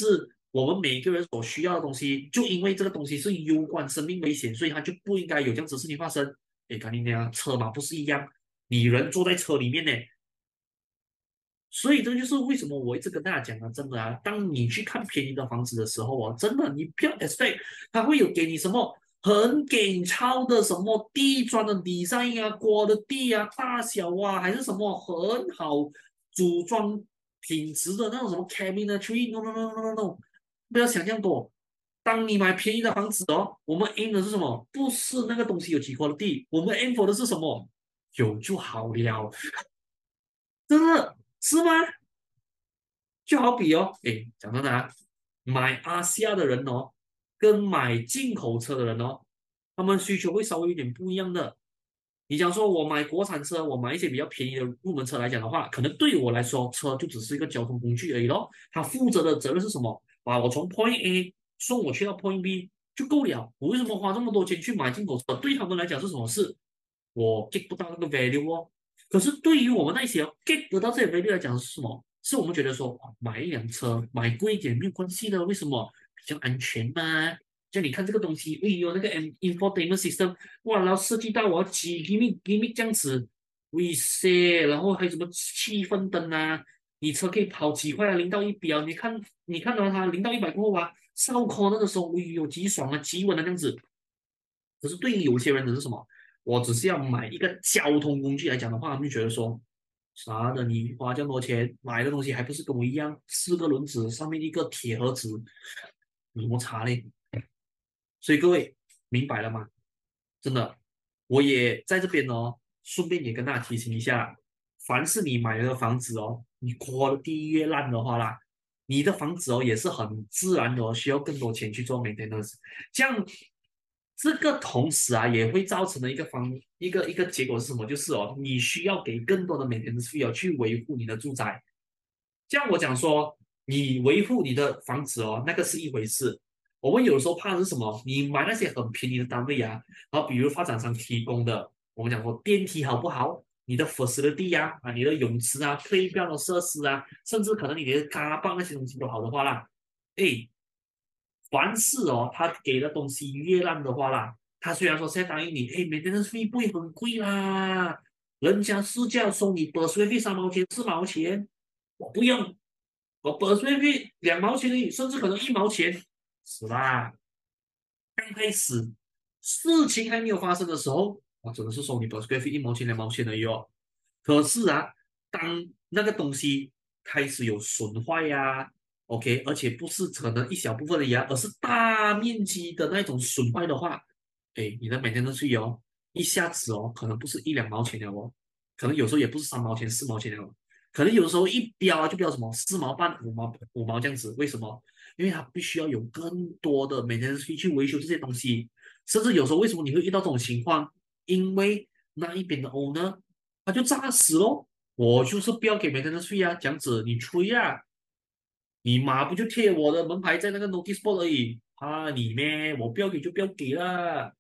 我們每一個人所需要的東西，就因為這個東西是攸關生命危險，所以它就不應該有這樣子的事情發生。誒，看你那車嘛，不是一樣，你人坐在車裡面呢。所以這就是為什麼我一直跟大家講啊，真的啊，當你去看便宜的房子的时候哦，真的你不要 expect 它会有給你什麼很給超的什麼地磚的 design 啊、刮的地啊、大小啊，還是什麼很好組裝品質的那種什麼 cabinetry，no no no no no no，不要想象多。當你買便宜的房子哦，我們 aim 的是什麼？不是那個東西有幾塊地，我們 aim for 的是什麼？有就好了，真的是嗎？就好比哦，诶，講真的啊，買阿西亞的人哦，跟買進口車的人哦，他們需求會稍微有點不一樣的。你講說我買國產車，我買一些比較便宜的入門車來講的話，可能對我來說，車就只是一個交通工具而已咯。它負責的責任是什麼？把我從 Point A 送我去到 Point B 就夠了。我為什麼花這麼多錢去買進口車？對他們來講是什麼事？我 get 不到那個 value 哦。可是对於我們那些 get 得到這些 value 來講是什麼？是我們覺得說，買一輛車買貴一點沒有關係的，為什麼？比較安全嘛。就你看這個東西，哎呦，那個 infotainment system，哇，然後設計到我要幾 give me 這樣子，喂塞，然後還有什麼氣氛燈啊，你車可以跑幾快啊，0到100啊，你看到它0到100過後啊，燒 call 那個時候，哎呦，極爽啊，極穩啊，這樣子。可是對於有些人的是什麼？我只是要買一個交通工具來講的話，他們就覺得說，啥的，你花這麼多錢買的東西還不是跟我一樣，四個輪子上面一個鐵盒子，有什麼差嘞？所以各位明白了嗎？真的，我也在這邊哦，順便也跟大家提醒一下，凡是你買了個房子哦，你刮的地越爛的話啦，你的房子哦也是很自然的哦，需要更多錢去做 maintenance，這樣這個同時啊也會造成的一個結果是什麼？就是哦，你需要給更多的 maintenance fee 哦去維護你的住宅。這樣我講說，你維護你的房子哦，那個是一回事。我們有時候怕的是什麼？你買那些很便宜的單位啊，然後比如發展商提供的，我們講說電梯好不好？你的 facility 啊，你的泳池啊，playground 的設施啊，甚至可能你的 car park 那些東西都好的話啦，誒，凡是哦，他給的東西越爛的話啦，他雖然說現在答應你，誒，maintenance fee 不會很貴啦，人家市價收你 per square feet 3毛錢4毛錢，我不用，我 per square feet 2毛錢而已，甚至可能1毛錢，是吧？剛開始事情還沒有發生的時候，我真的是收你 per square feet 1毛錢2毛錢而已哦。可是啊，當那個東西開始有損壞呀，OK，而且不是可能一小部分的呀，而是大面積的那種損壞的話，哎，你的每天都是有一下子哦，可能不是1-2毛錢了哦，可能有時候也不是3毛錢4毛錢了哦，可能有時候一標啊就標什麼4毛半5毛這樣子，為什麼？因為它必須要有更多的每天去維修這些東西，甚至有時候為什麼你會遇到這種情況？因為那一邊的 owner 他就炸死咯，我就是不要給每天的稅啊，這樣子你吹啊，你媽不就貼我的門牌在那個 notice board 而已，怕你咩？我不要給就不要給啦。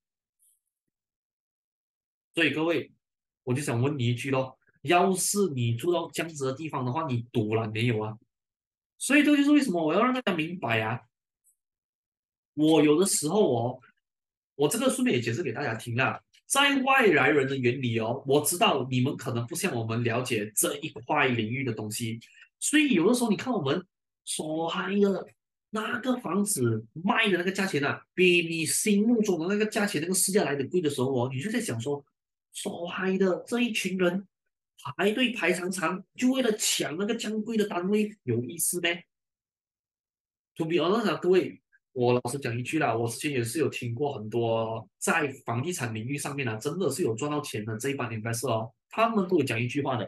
所以各位，我就想問你一句咯，要是你住到這樣子的地方的話，你賭了沒有啊？所以這就是為什麼我要讓大家明白啊，我有的時候哦，我這個順便也解釋給大家聽啦，在外來人的眼裡哦，我知道你們可能不像我們了解這一塊領域的東西，所以有的時候你看我們所嗨的那個房子賣的那個價錢啊，比你心目中的那個價錢那個市價來的貴的時候哦，你就在想說，所嗨的這一群人排隊排長長，就為了搶那個這樣貴的單位，有意思咩？To be honest 啊，各位。我老實講一句啦，我之前也是有聽過很多在房地產領域上面啊，真的是有賺到錢的這一幫 investor 哦，他們都有講一句話的，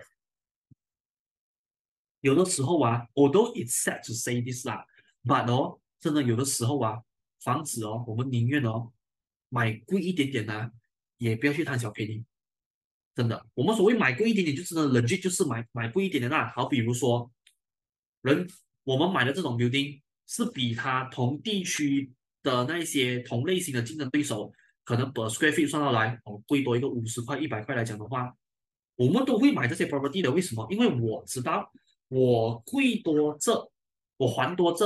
有的時候啊，although it's sad to say this 啦，but 哦，真的有的時候啊，房子哦，我們寧願哦買貴一點點啊，也不要去貪小便宜，真的，我們所謂買貴一點點，就真的 legit 就是買貴一點點啦，好，比如說人我們買的這種 building。是比它同地區的那些同類型的競爭對手，可能 per square feet 算下來哦，貴多一個50塊100塊來講的話，我們都會買這些 property 的。為什麼？因為我知道我貴多這，我還多這，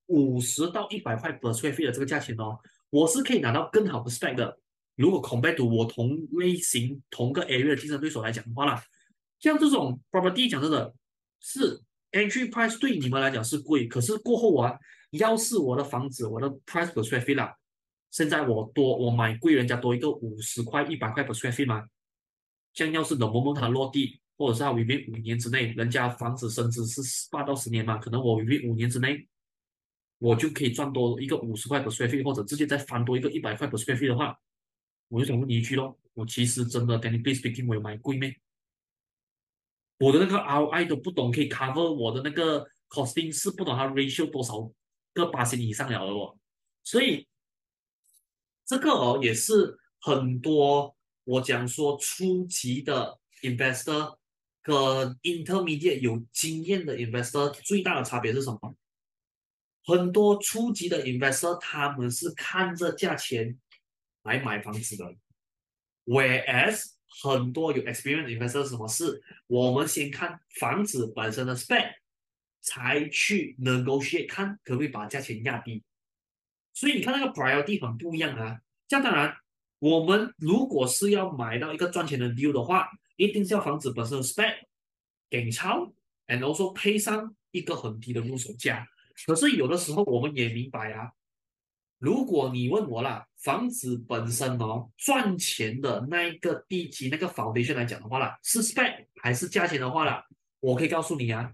50到100塊 per square feet 的這個價錢哦，我是可以拿到更好的 spec 的。如果 compare to 我同類型同個 area 的競爭對手來講的話啦，像這種 property 講真的是 entry price 對你們來講是貴，可是過後啊，要是我的房子我的 price per square feet 啦，現在我買貴人家多一個50塊100塊 per square feet 嘛，像要是冷蒙蒙它落地，或者是它 within 5年之內，人家房子升值是8到10年嘛，可能我 within 5年之內，我就可以賺多一個50塊 per square feet，或者直接再翻多一個100塊 per square feet 的話，我就想問你一句咯，我其實真的 technically speaking 我有買貴咩？我的那個 ROI 都不懂可以 cover 我的那個 costing 是不懂它 ratio 多少個%以上了的哦，所以這個哦也是很多我講說初級的 investor 跟 intermediate 有經驗的 investor 最大的差別是什麼？很多初級的 investor 他們是看着價錢來買房子的，whereas 很多有 experience investor 什麼事，我們先看房子本身的 spec，才去 negotiate 看可不可以把價錢壓低。所以你看那個 priority 很不一樣啊。這樣當然，我們如果是要買到一個賺錢的 deal 的話，一定是要房子本身的 spec 給超 ，and also 配上一個很低的入手價。可是有的時候我們也明白啊，如果你問我啦，房子本身哦賺錢的那一個地基那個 foundation 來講的話啦，是 spec 還是價錢的話啦，我可以告訴你啊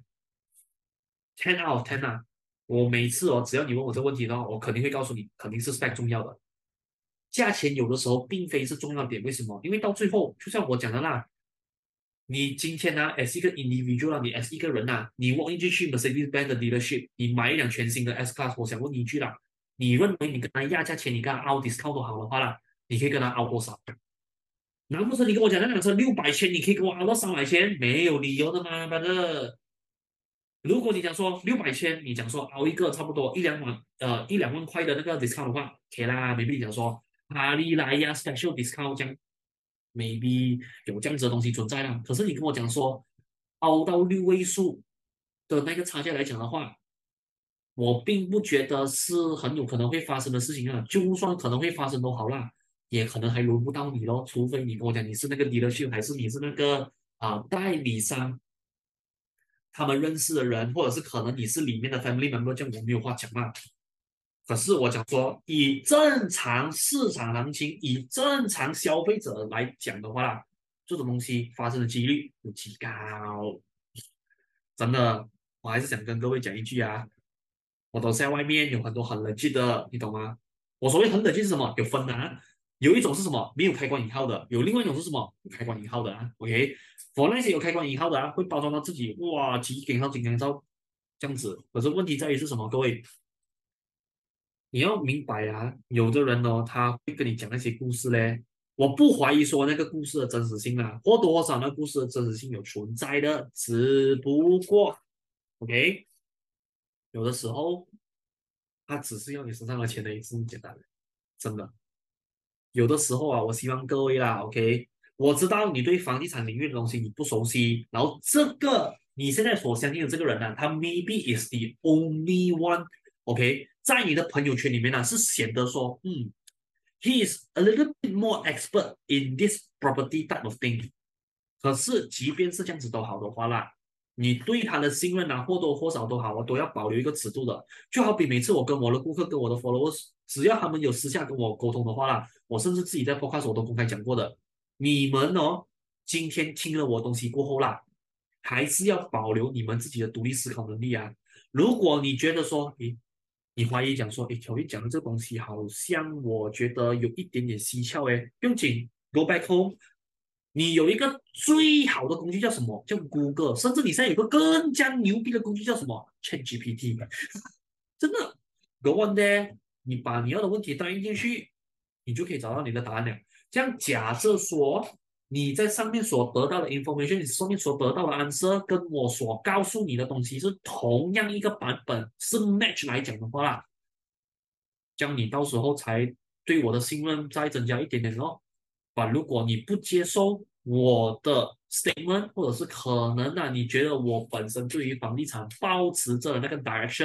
，10 out of 10啊，我每次哦只要你問我這個問題的話，我肯定會告訴你，肯定是 spec 重要的，價錢有的時候並非是重要點，為什麼？因為到最後就像我講的啦。你今天呢、as 一個 individual 你 as 一個人啊，你 walk 進去 Mercedes-Benz 的 dealership，你買一輛全新的 S-Class， 我想問你一句啦，你認為你跟他壓價錢，你跟他 out discount 都好的話啦，你可以跟他 out 多少？難不成你跟我講那輛車600千，你可以給我 out 到300千？沒有理由的嘛，反正。如果你講說600千，你講說 out 一個差不多1-2萬塊的那個 discount 的話，OK 啦，maybe 你講說哈利來呀 special discount 這樣。maybe 有這樣子的東西存在啦，可是你跟我講說凹到6位數的那個差價來講的話，我並不覺得是很有可能會發生的事情啊。就算可能會發生都好啦，也可能還輪不到你咯，除非你跟我講你是那個 dealership，還是你是那個代理商，他們認識的人，或者是可能你是裡面的 family member，這樣我沒有話講嘛。可是我講說，以正常市場行情，以正常消費者來講的話啦，這種東西發生的幾率有極高。真的，我還是想跟各位講一句啊，我都在外面有很多很 legit 的，你懂嗎？我所謂很 legit 是什麼？有分啊，有一種是什麼？沒有開關引號的，有另外一種是什麼？有開關引號的啊。OK， 我那些有開關引號的啊，會包裝到自己哇幾頂號、幾頂號這樣子。可是問題在於是什麼？各位。你要明白啊，有的人哦，他會跟你講那些故事嘞。我不懷疑說那個故事的真實性啊，或多或少那個故事的真實性有存在的，只不過，OK，有的時候他只是要你身上的錢的，是這麼簡單的，真的。有的時候啊，我希望各位啦，OK，我知道你對房地產領域的東西你不熟悉，然後這個你現在所相信的這個人呢、啊，他 maybe is the only one，OK，在你的朋友圈裡面呢、是顯得說，he is a little bit more expert in this property type of thing。可是即便是這樣子都好的話啦，你對他的信任啊，或多或少都好，我都要保留一個尺度的。就好比每次我跟我的顧客、跟我的 followers，只要他們有私下跟我溝通的話啦，我甚至自己在 podcast 我都公開講過的。你們哦，今天聽了我東西過後啦，還是要保留你們自己的獨立思考能力啊。如果你覺得說，你懷疑講說，喬一講的這個東西好像我覺得有一點點蹊蹺誒，不用緊 ，Go back home。你有一個最好的工具叫什麼？叫 Google，甚至你現在有個更加牛逼的工具叫什麼？ChatGPT。真的，Go on there，你把你要的問題打印進去，你就可以找到你的答案了。這樣假設說你在上面所得到的 information，你上面所得到的 answer，跟我所告訴你的東西是同樣一個版本，是 match 來講的話啦，這樣你到時候才對我的信任再增加一點點哦。如果你不接受我的 statement， 或者是可能啊，你覺得我本身對於房地產抱持着那個 direction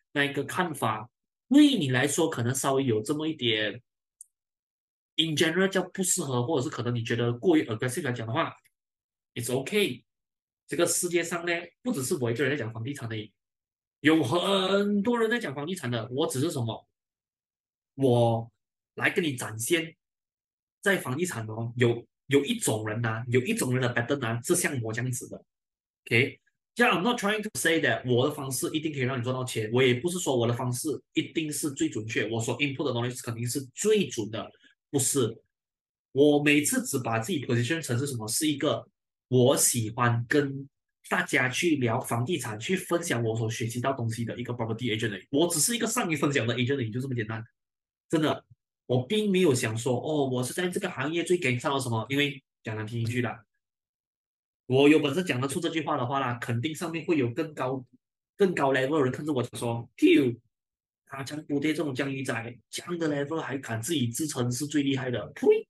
那一個看法，對你來說可能稍微有這麼一點，in general 叫不適合，或者是可能你覺得過於 aggressive 來講的話，it's okay。這個世界上呢，不只是我一個人在講房地產的，有很多人在講房地產的。我只是什麼，我來跟你展現，在房地產哦，有一種人呐、有一種人的 pattern 啊，是像我這樣子的。OK，這樣 I'm not trying to say that 我的方式一定可以讓你賺到錢，我也不是說我的方式一定是最準確，我所 input 的東西肯定是最準的，不是。我每次只把自己 position 成是什麼，是一個我喜歡跟大家去聊房地產，去分享我所學習到東西的一個 property agent 而已。我只是一個善於分享的 agent 而已，就這麼簡單。真的，我並沒有想說哦，我是在這個行業最頂上了什麼，因為講難聽一句啦。我有本事講得出這句話的話啦，肯定上面會有更高 level 的人看着我講說，Q，他講古爹這種江魚仔，這樣的 level 還敢自己自稱是最厲害的，呸！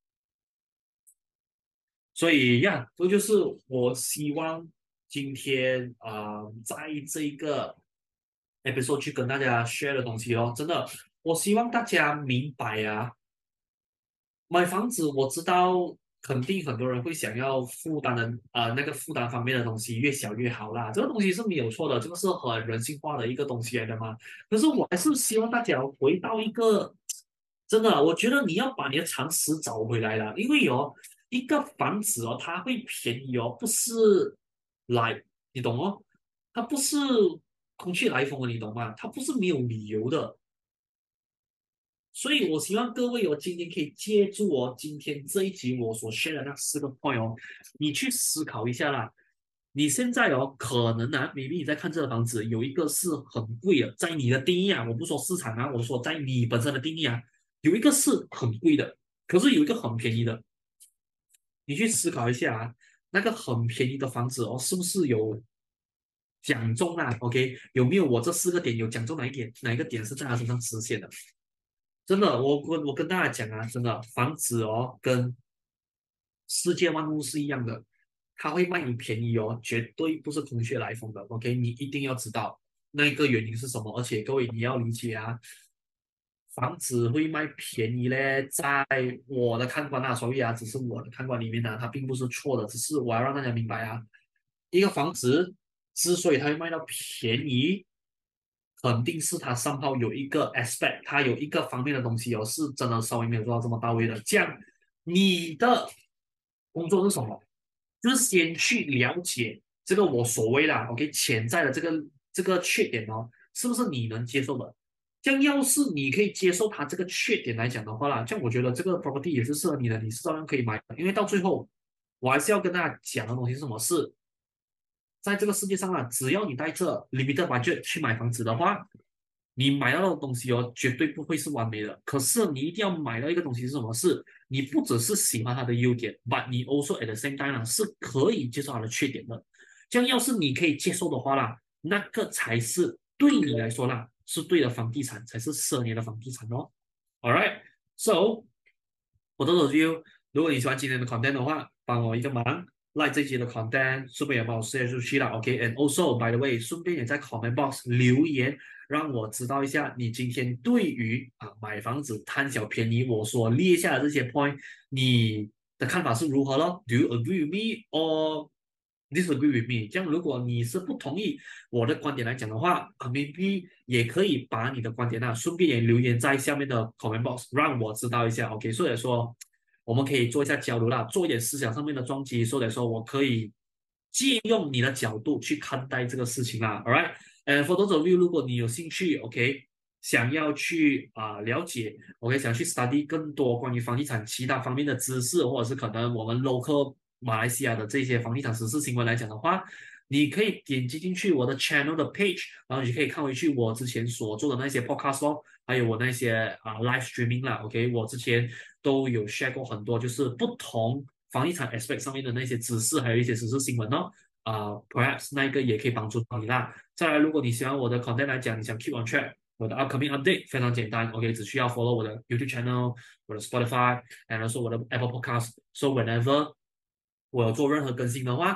所以呀，這就是我希望今天在這一個 episode 去跟大家 share 的東西哦，真的，我希望大家明白啊。買房子我知道，肯定很多人会想要負擔的那個負擔方面的東西越小越好啦，這個東西是沒有錯的，這個是很人性化的一個東西來的嘛。可是我還是希望大家回到一個真的，我覺得你要把你的常識找回來了，因為哦，一個房子哦，它會便宜哦，不是來，你懂哦，它不是空穴來風的，你懂嗎？它不是沒有理由的。所以我希望各位今天可以借助今天這一集我所 share 的那4個 point 哦，你去思考一下啦。你現在可能maybe你在看這個房子，有一個是很貴的，在你的定義啊，我不說市場啊，我說在你本身的定義啊，有一個是很貴的，可是有一個很便宜的。你去思考一下啊，那個很便宜的房子是不是有講中啊？OK，有沒有我這4個點有講中哪一個點是在他身上實現的？真的，我跟大家講啊，真的，房子跟世界萬物是一樣的，它會賣你便宜絕對不是空穴來風的。OK，你一定要知道那個原因是什麼，而且各位你要理解啊，房子會賣便宜嘞，在我的看官啊，所以啊，只是我的看官裡面呢，它並不是錯的，只是我要讓大家明白啊，一個房子之所以它會賣到便宜。肯定是他上號有一個 aspect，他有一個方面的東西是真的稍微沒有做到這麼到位的。這樣，你的工作是什麼？就是先去了解這個我所謂啦，OK，潛在的這個缺點是不是你能接受的？這樣，要是你可以接受他這個缺點來講的話啦，這樣我覺得這個 property 也是適合你的，你是照樣可以買的。因為到最後，我還是要跟大家講的東西是什麼？是在這個世界上啊，只要你帶着 limited budget 去買房子的話，你買到的東西絕對不會是完美的。可是你一定要買到一個東西是什麼？是你不只是喜歡它的優點 ，but 你 also at the same time 是可以接受它的缺點的。這樣，要是你可以接受的話啦，那個才是對你來說啦，是對的房地產，才是適合你的房地產哦。All right，so 我的 review，如果你喜歡今天的 content 的話，幫我一個忙。like 這期的 content，順便也幫我 share 出去了 ，OK？And also by the way，順便也在 comment box 留言，讓我知道一下你今天對於買房子貪小便宜我所列下的這些 point，你的看法是如何咯？ Do you agree with me or disagree with me？ 這樣如果你是不同意我的觀點來講的話，maybe 也可以把你的觀點順便也留言在下面的 comment box，讓我知道一下 ，OK？所以說。我們可以做一下交流啦，做一點思想上面的撞擊，所以說我可以借用你的角度去看待這個事情啦。All right，and for those of you，如果你有興趣，OK，想要去了解，OK，想去 study 更多關於房地產其他方面的知識，或者是可能我們 local 馬來西亞的這些房地產時事新聞來講的話，你可以點擊進去我的 channel 的 page，然後你可以看回去我之前所做的那些 podcast 咯，還有我那些live streaming 啦 ，OK， 我之前都有 share 過很多，就是不同房地產 aspect 上面的那些知識，還有一些時事新聞哦。perhaps 那一個也可以幫助到你啦。再來，如果你喜歡我的 content 來講，你想 keep on track 我的 upcoming update 非常簡單 ，OK， 只需要 follow 我的 YouTube channel， 我的 Spotify， 然後說我的 Apple Podcast，so whenever 我有做任何更新的話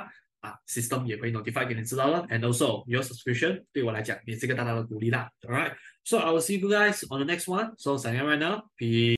system 也會 notify 給你知道了。And also your subscription 對我來講也是一個大大的鼓勵啦。Alright, so I will see you guys on the next one. So signing out right now. Peace.